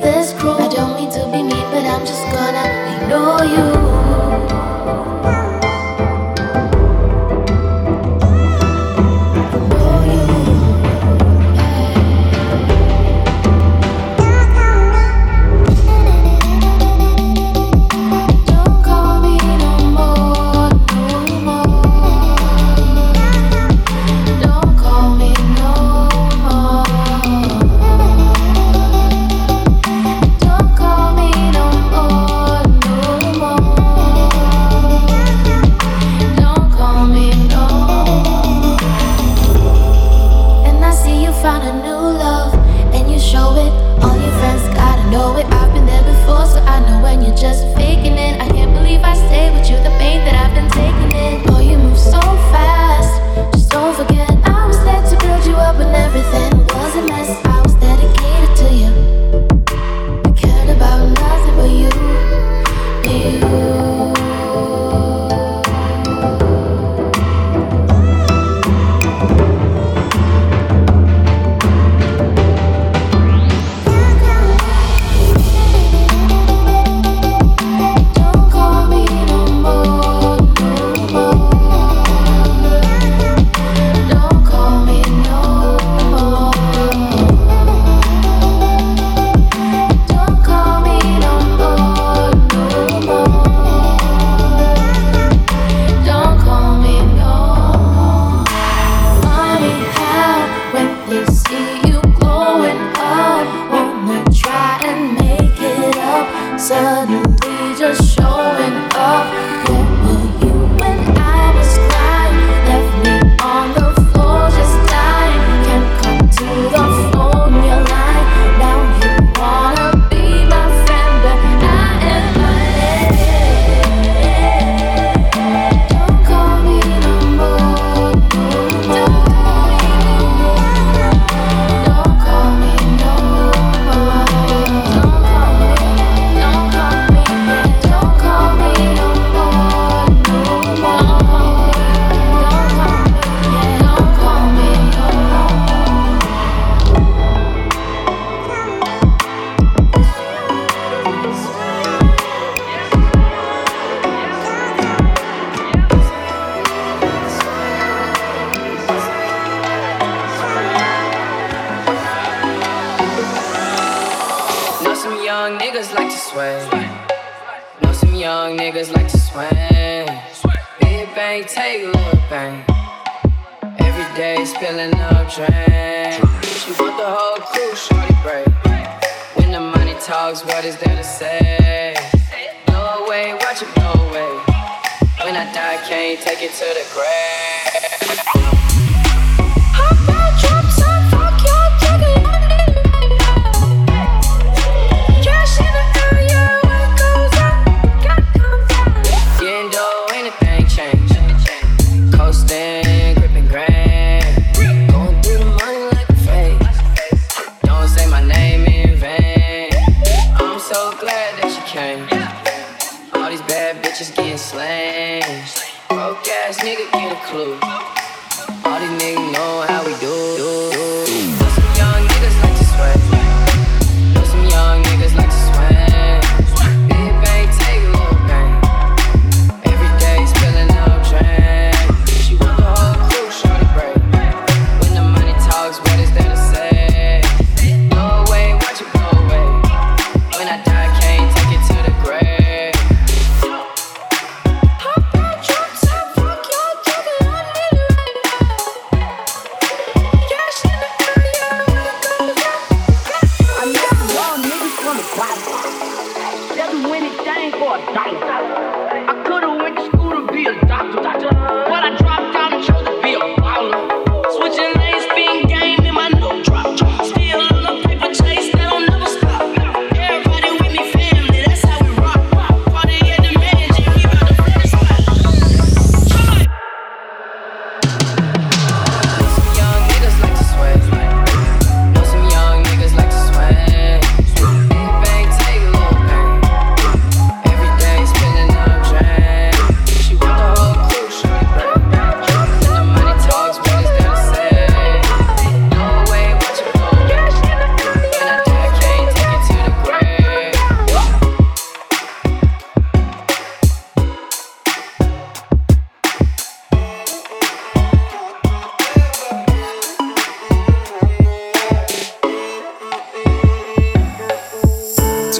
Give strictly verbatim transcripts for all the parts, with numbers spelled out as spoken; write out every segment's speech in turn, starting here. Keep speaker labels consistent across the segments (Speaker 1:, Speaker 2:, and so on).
Speaker 1: this cruel. I don't mean to be mean, but I'm just gonna ignore you.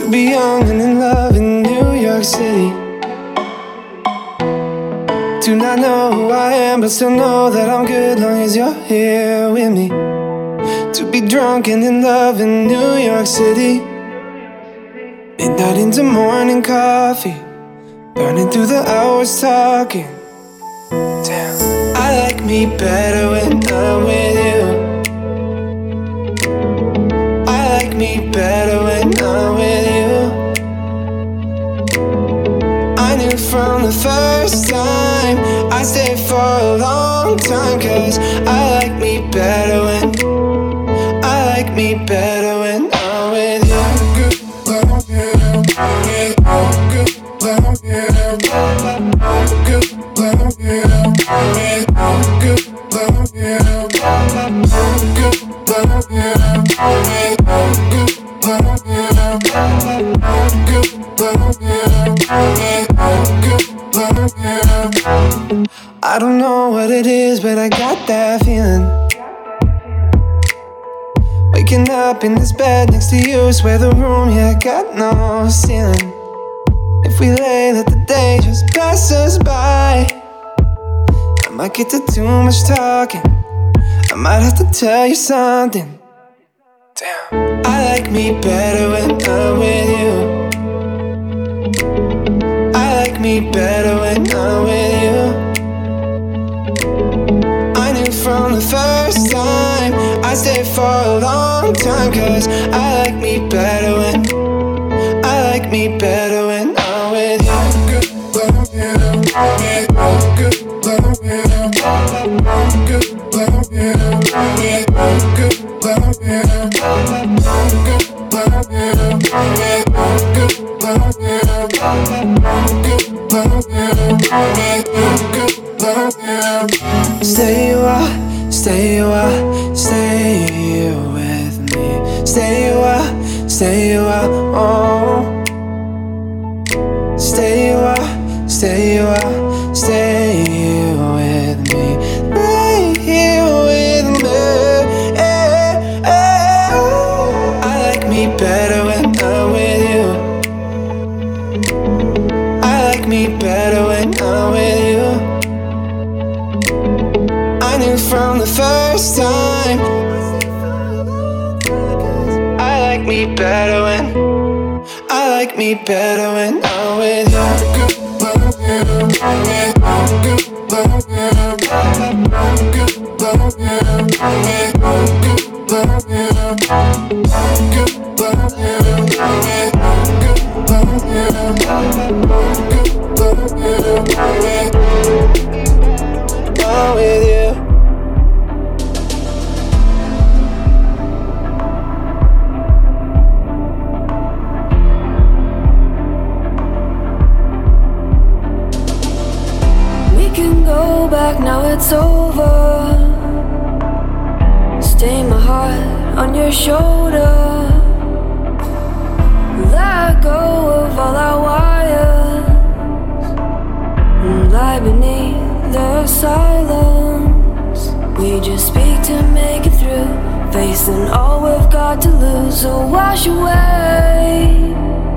Speaker 2: To be young and in love in New York City. Do not know who I am, but still know that I'm good long as you're here with me. To be drunk and in love in New York City. Midnight into morning coffee, burning through the hours talking. Damn, I like me better when I'm with you. I like me better when I'm with you. I knew from the first time I stayed for a long time, cause I like me better when I like me better when I'm with you. I don't know what it is, but I got that feeling. Waking up in this bed next to you, swear the room, yeah, got no ceiling. If we lay, let the day just pass us by. I might get to too much talking, I might have to tell you something. Damn, I like me better when I'm with you. I like me better when I'm with you. I knew from the first time I stayed for a long time, cause I like me better when I like me better when I'm with you. Stay a while, stay a while, stay here with me. Stay a while, stay a while, oh. Stay a while, stay a while, stay here with me. Stay here with me. Eh, eh, oh. I like me better when I'm with you. I like me better when I'm with you. I knew from the first time I like me better when I like me better when I'm with you. I'm with you.
Speaker 3: Go back, now it's over. Stay my heart on your shoulder. Let go of all our wires and lie beneath the silence. We just speak to make it through, facing all we've got to lose. So wash away,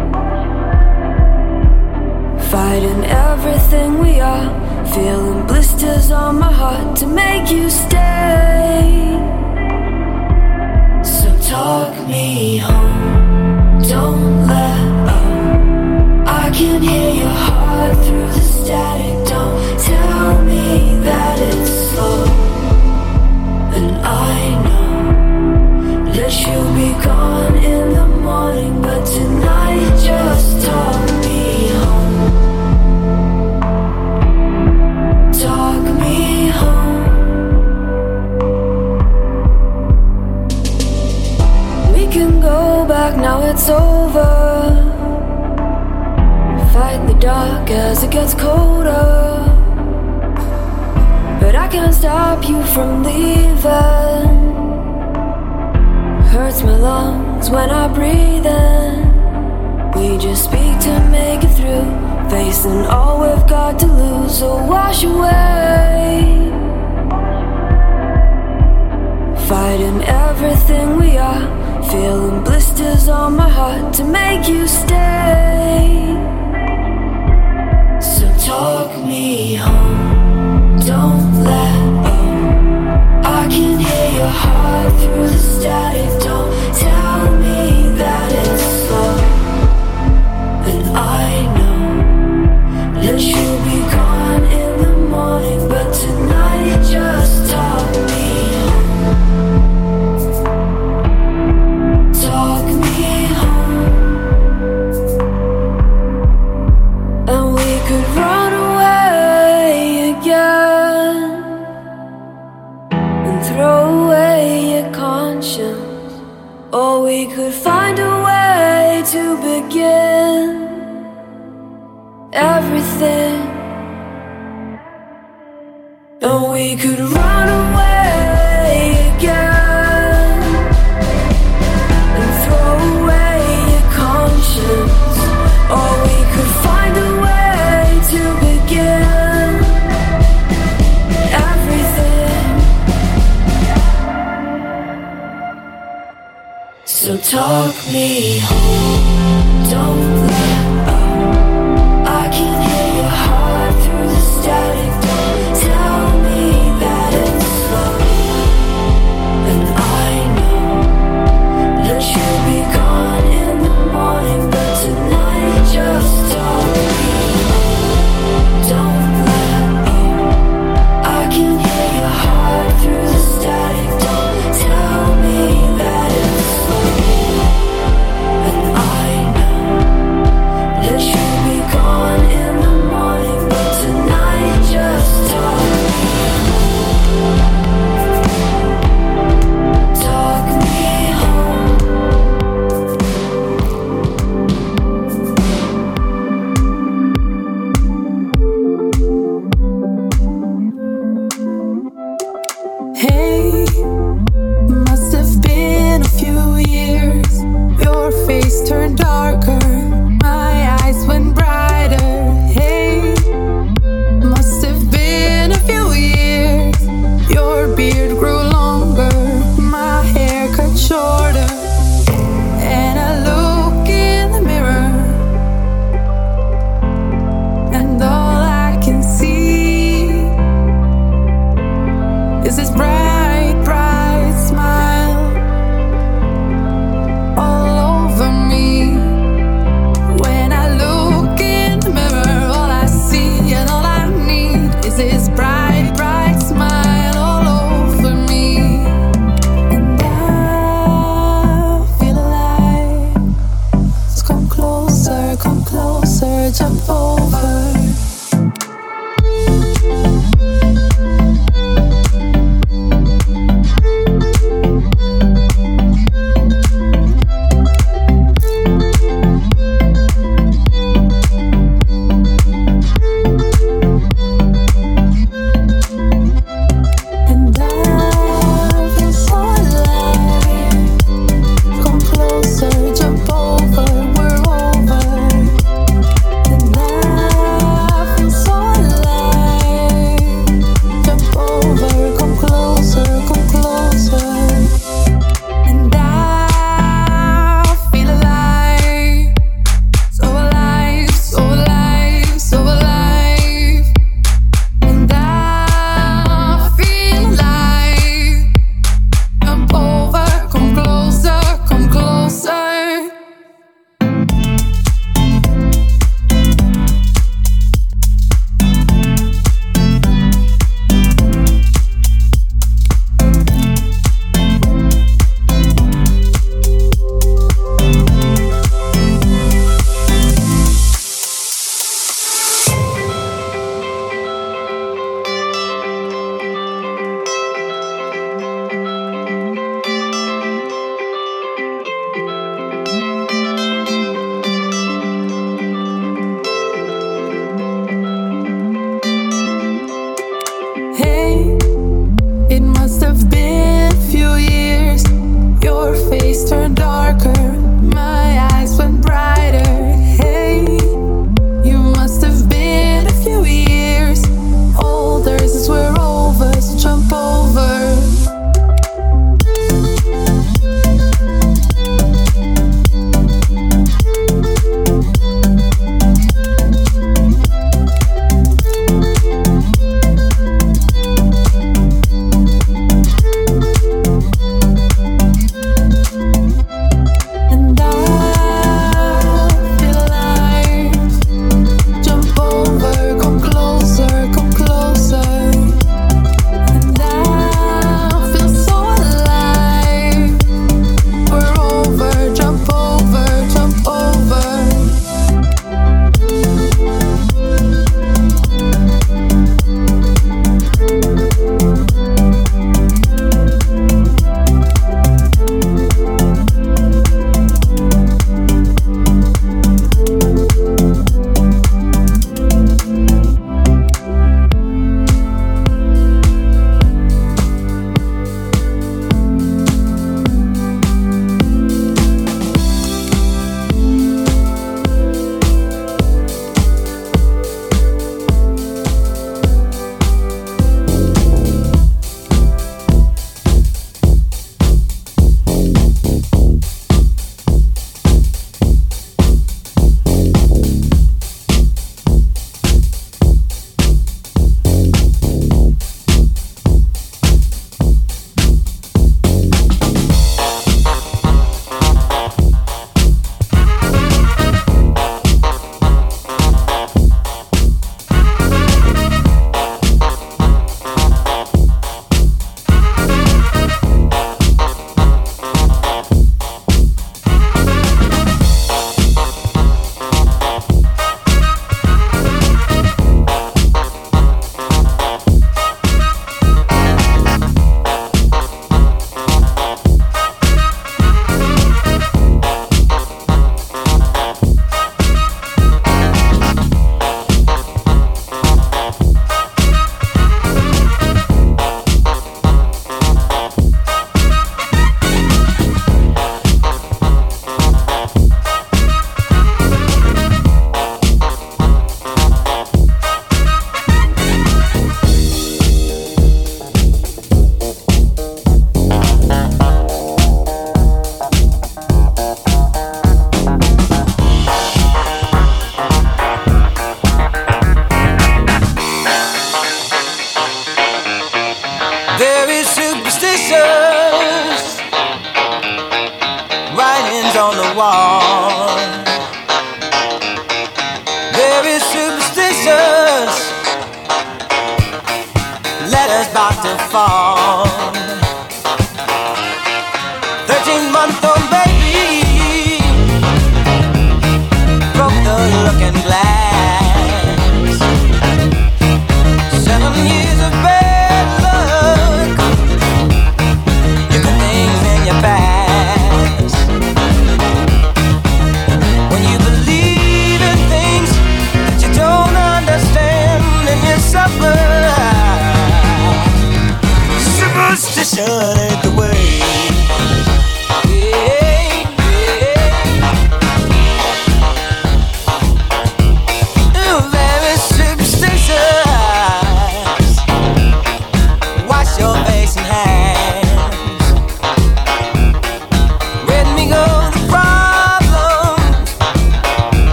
Speaker 3: fighting everything we are, feeling blisters on my heart to make you stay. So talk me home, don't let up. I can hear your heart through the static. Don't tell me that it's slow. And I know that you'll be gone in the morning, but tonight just talk me home. Talk me home. We can go back, now it's over. Fight the dark as it gets colder, but I can't stop you from leaving. Hurts my lungs when I breathe in. We just speak to make it through, facing all we've got to lose. So wash away, fighting everything we are, feeling blisters on my heart to make you stay. begin everything. And we could run away again and throw away your conscience, or we could find a way to begin everything. So talk me home, don't let up. I can hear your heart through the static. Don't tell me that it's slow. And I know that you'll be gone in the morning, but tonight just talk me home, don't let up. I can hear your heart through the static. Don't tell me that it's slow. And I know that you'll be gone in the morning, but tonight just talk me home. Talk me home.
Speaker 4: Hey, must have been a few years. Your face turned darker, my eyes went brighter. Hey, must have been a few years. Your beard grew longer, my hair cut shorter. And I look in the mirror, and all I can see is this bright, bright smile all over me. When I look in the mirror, all I see and all I need is this bright, bright smile all over me. And I feel alive. So come closer, come closer, jump over. And I feel so alive. Come closer, jump over, we're over. And I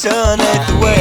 Speaker 5: superstition ain't the way.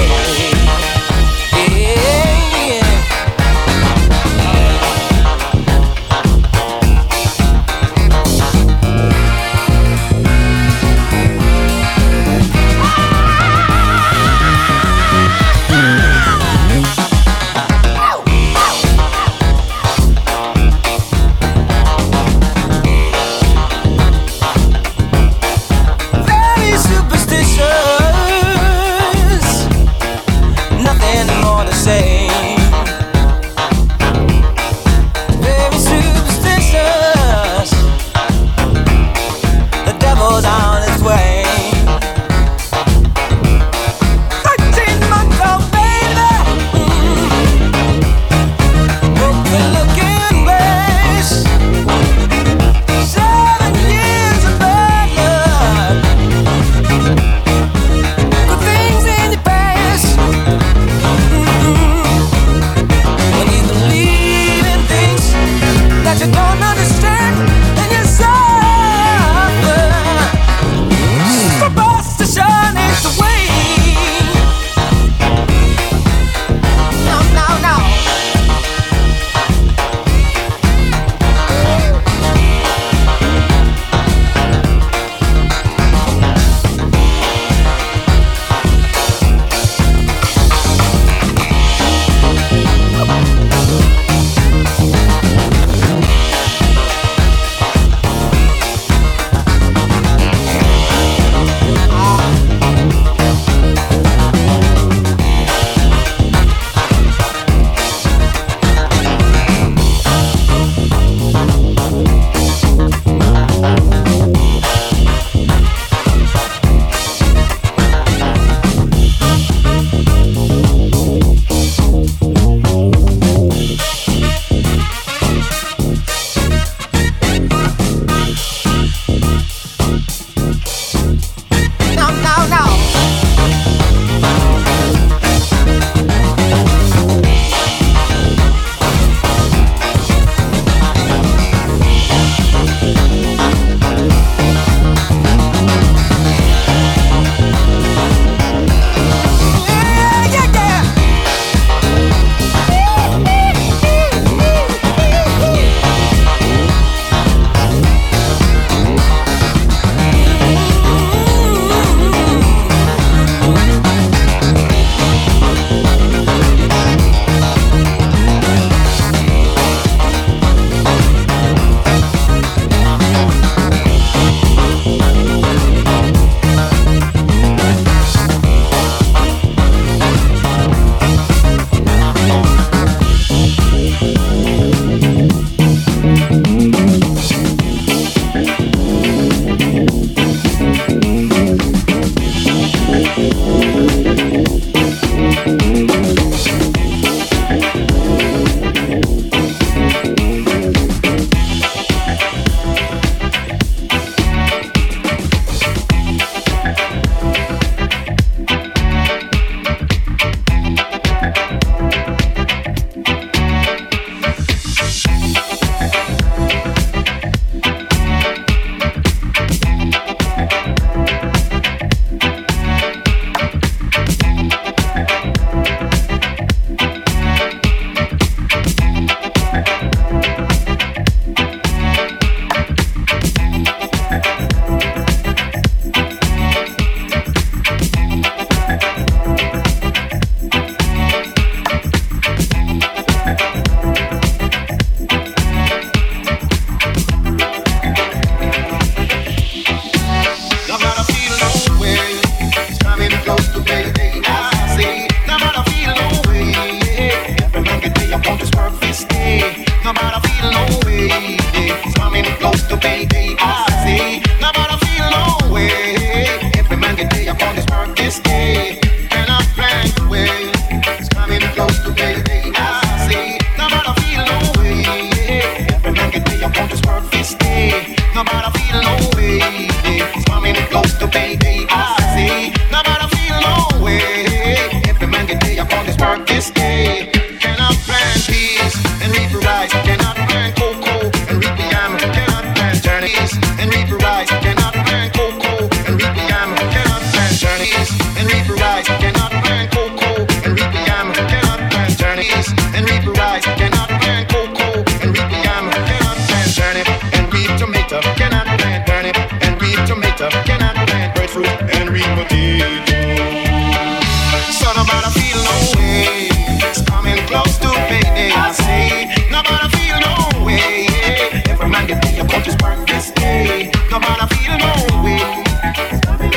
Speaker 2: and reap the rice.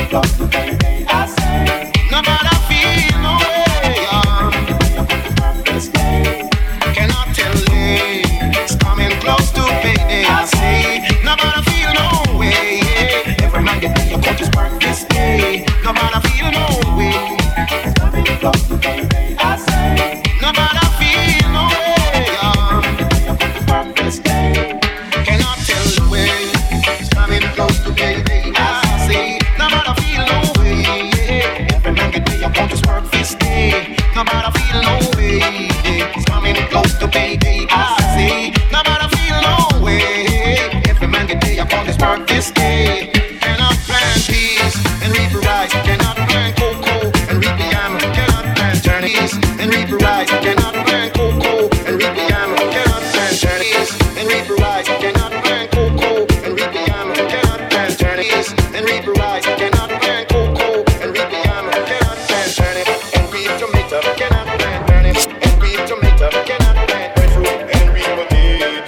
Speaker 5: close to baby, I say. No matter feel no way, um, this day. Cannot tell it. It's coming close to baby, I say. No matter feel no way, yeah. Every man get your coach is work this day. No matter feel no way. It's coming close to baby, I say. No matter feel no way, um, work this day. Cannot tell the way. It's coming close to baby, I say. No matter feel no way, yeah. Every man get your coach is work this day. No matter feel no way, yeah. It's coming close to baby, I say. No matter feel no way. Every man get your coach is work this day. Cannot plant peace and reap rice. Cannot plant cocoa and reap the yam. Cannot plant Chinese and reap rice. Cannot plant cocoa and reap the yam. Cannot plant Chinese and reap rice. Cannot plant cocoa and reap the yam. Cannot plant Chinese and reap rice. Cannot plant cocoa and reap the yam. Cannot plant Chinese and reap tomato. Cannot plant Chinese and reap tomato. Cannot plant fruit and reap potato.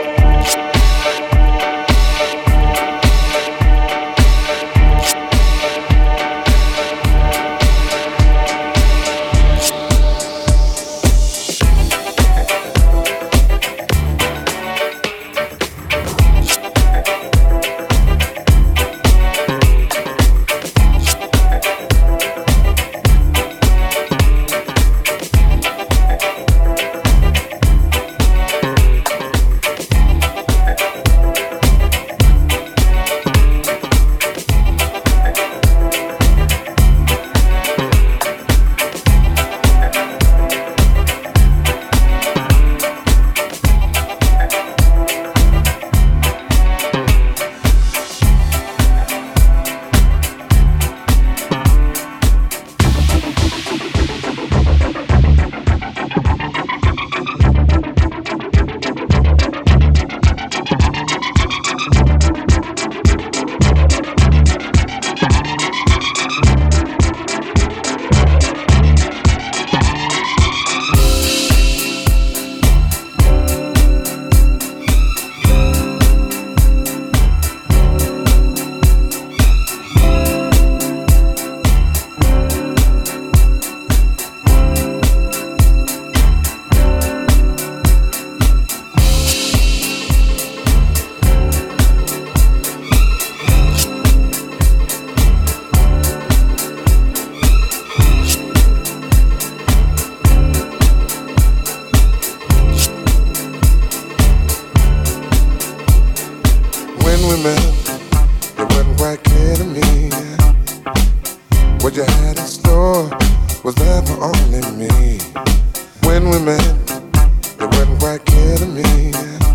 Speaker 5: What you had in store was there for only me. When we met, it wasn't quite clear to me.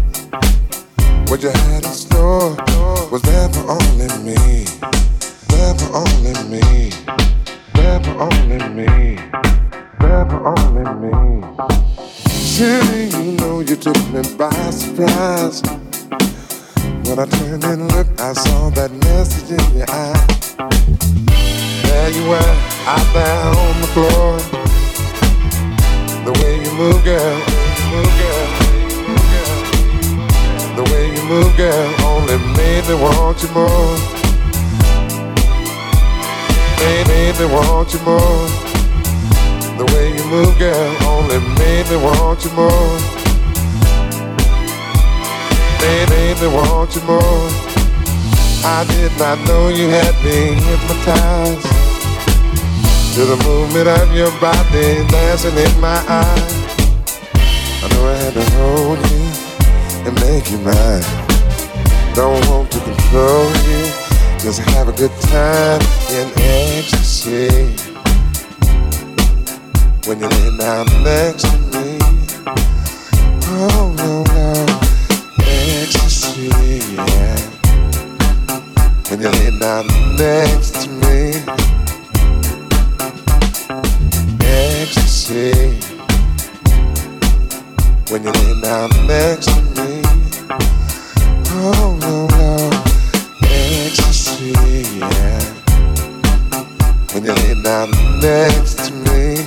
Speaker 5: What you had in store was there for only me. There for only me. There for only me. There for only me. Surely you know you took me by surprise. When I turned and looked, I saw that message in your eye. There you were, out there on the floor. The way you move, girl, move, girl, move, girl. The way you move, girl, only made me want you more. Made, made me want you more. The way you move, girl, only made me want you more. Made, made me want you more. I did not know you had me hypnotized to the movement of your body dancing in my eyes. I know I had to hold you and make you mine. Don't want to control you, just have a good time in ecstasy. When you lay down next to me, oh no, no, ecstasy, yeah. When you lay down next to me, ecstasy. When you lay down next to me, oh no, no, ecstasy, yeah. When you lay down next to me.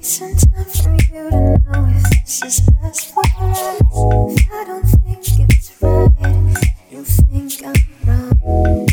Speaker 3: some time for you to know if this is best for us. If I don't think it's right, you think I'm wrong.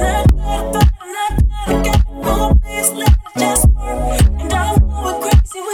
Speaker 3: Just work, and I'm going crazy with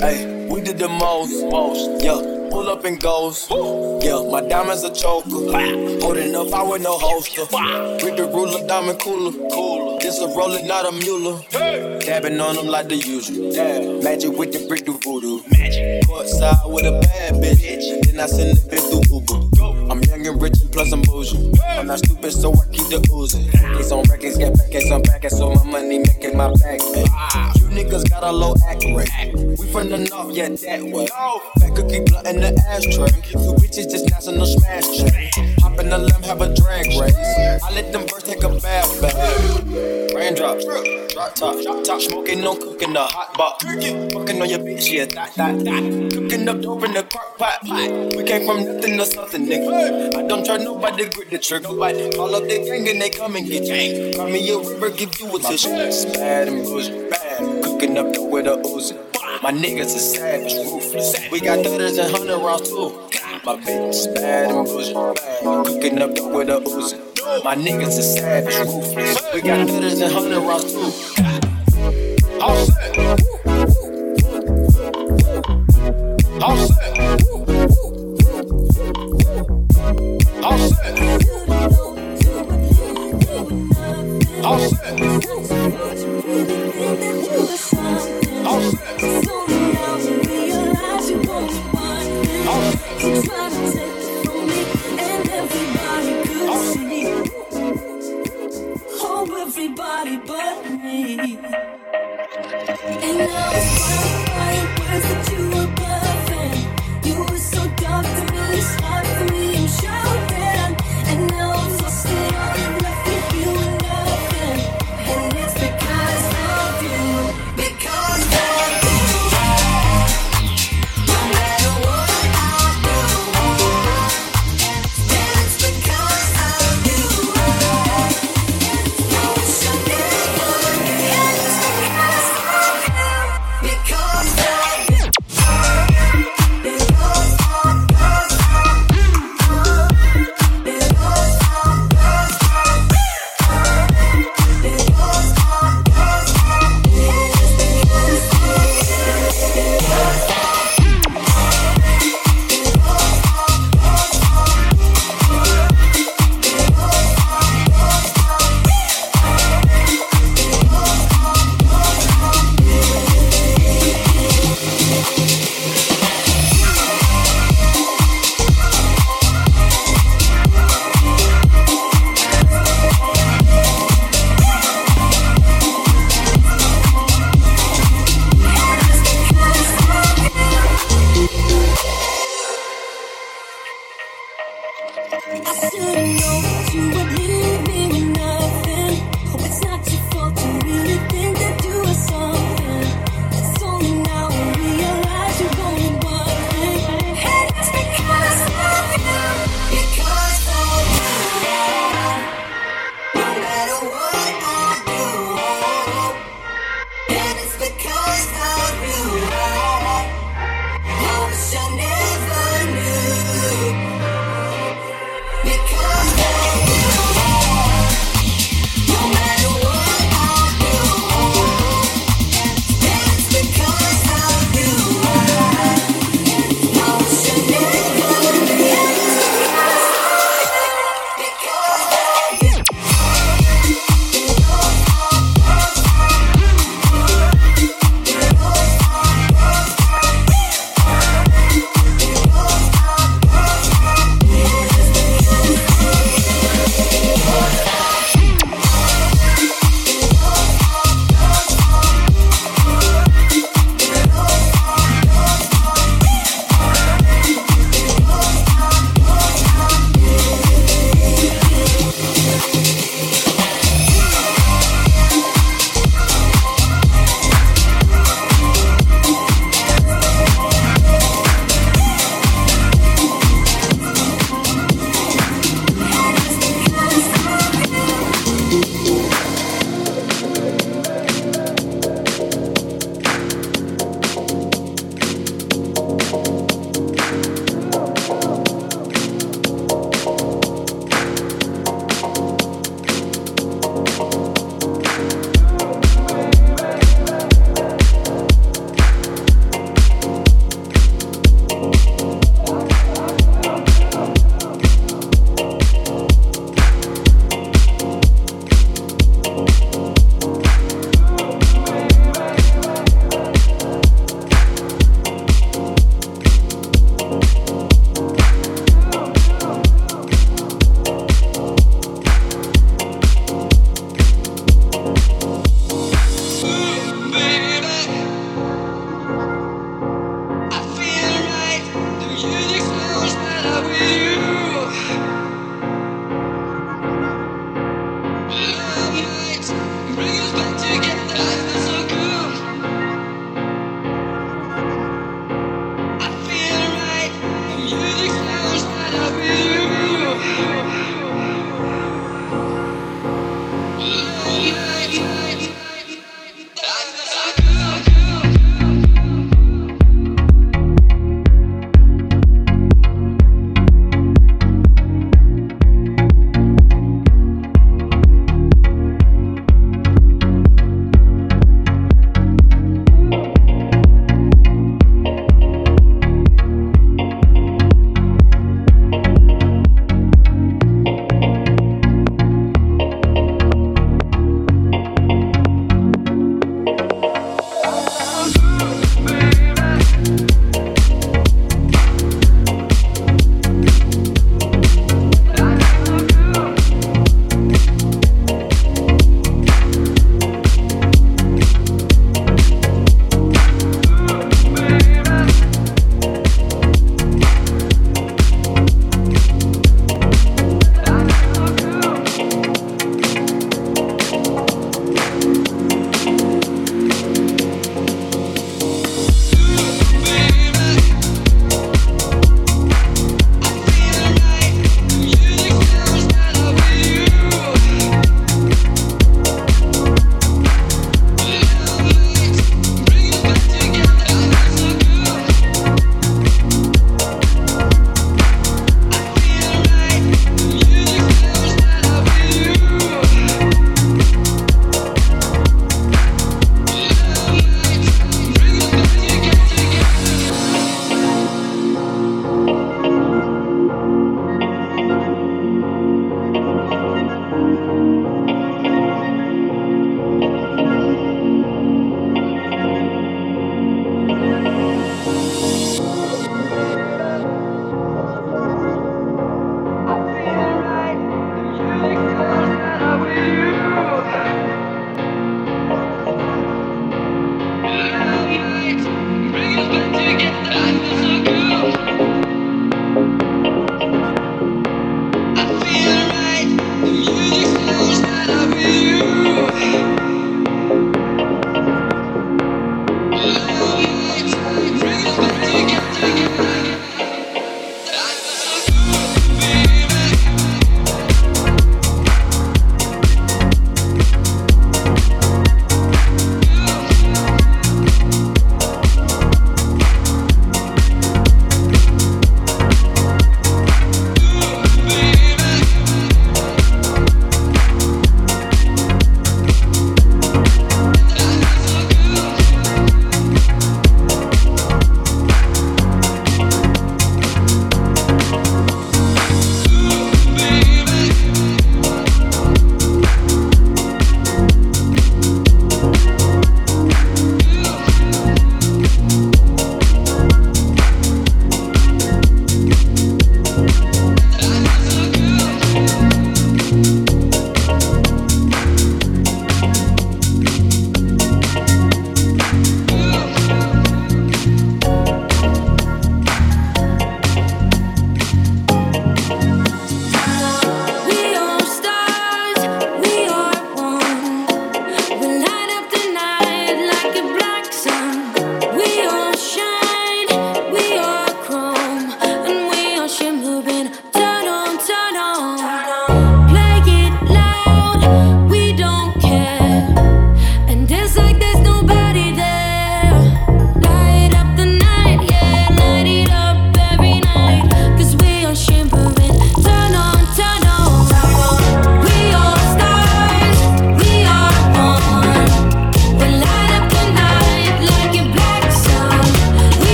Speaker 6: Hey, we did the most, most, yeah. Pull up and goes, yeah. My diamonds a choker, holding up, I with no holster. With the ruler, diamond cooler, cooler. This a roller, not a mule. Dabbing on them like the usual. Magic with the brick do voodoo. Magic. Courtside with a bad bitch, then I send the bitch through Uber. I'm young and rich and plus I'm bougie. I'm not stupid, so I keep the oozing. Case on records, get back, case on back, so my money making my back pay. You niggas got a low act rate. We from the north, yeah, that way. Fat cookie blunt in the ashtray. Two bitches just national smash tray. Hop in the limb, have a drag race. I let them birds take a bath, baby. Raindrops, drop top, drop top. Smoking, no cooking, the hot box. Fucking on your bitch, yeah, that, that, that. Cooking up dope in the crock pot. We came from nothing to something, nigga. I don't try nobody, grip the trigger. Call up the gang and they come and get you. Call me a river, give you a tissue. Bad and bullshit, bad. Cooking up dope with a Uzi. My niggas is savage, ruthless. We got thudders and hundred rounds too. My bitch is bad and bullshit, bad. Cooking up dope with a Uzi. My niggas is savage, ruthless. We got thudders and hundred rounds too. All set. All set. All set. All set. All set.
Speaker 7: Everybody but me. And now it's fine, words that you were bluffing. You were so dark to me, it's hard for me, I'm shouting. And now I'm lost and I'm left with you and nothing. And it's because of you, because of you. No matter what I do, and it's because of you. Because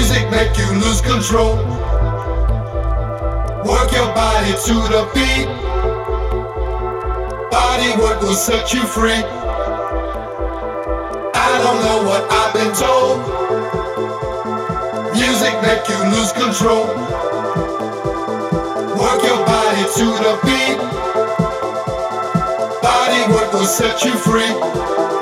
Speaker 8: Music make you lose control. Work your body to the beat. Body work will set you free. I don't know what I've been told. Music make you lose control. Work your body to the beat. Body work will set you free.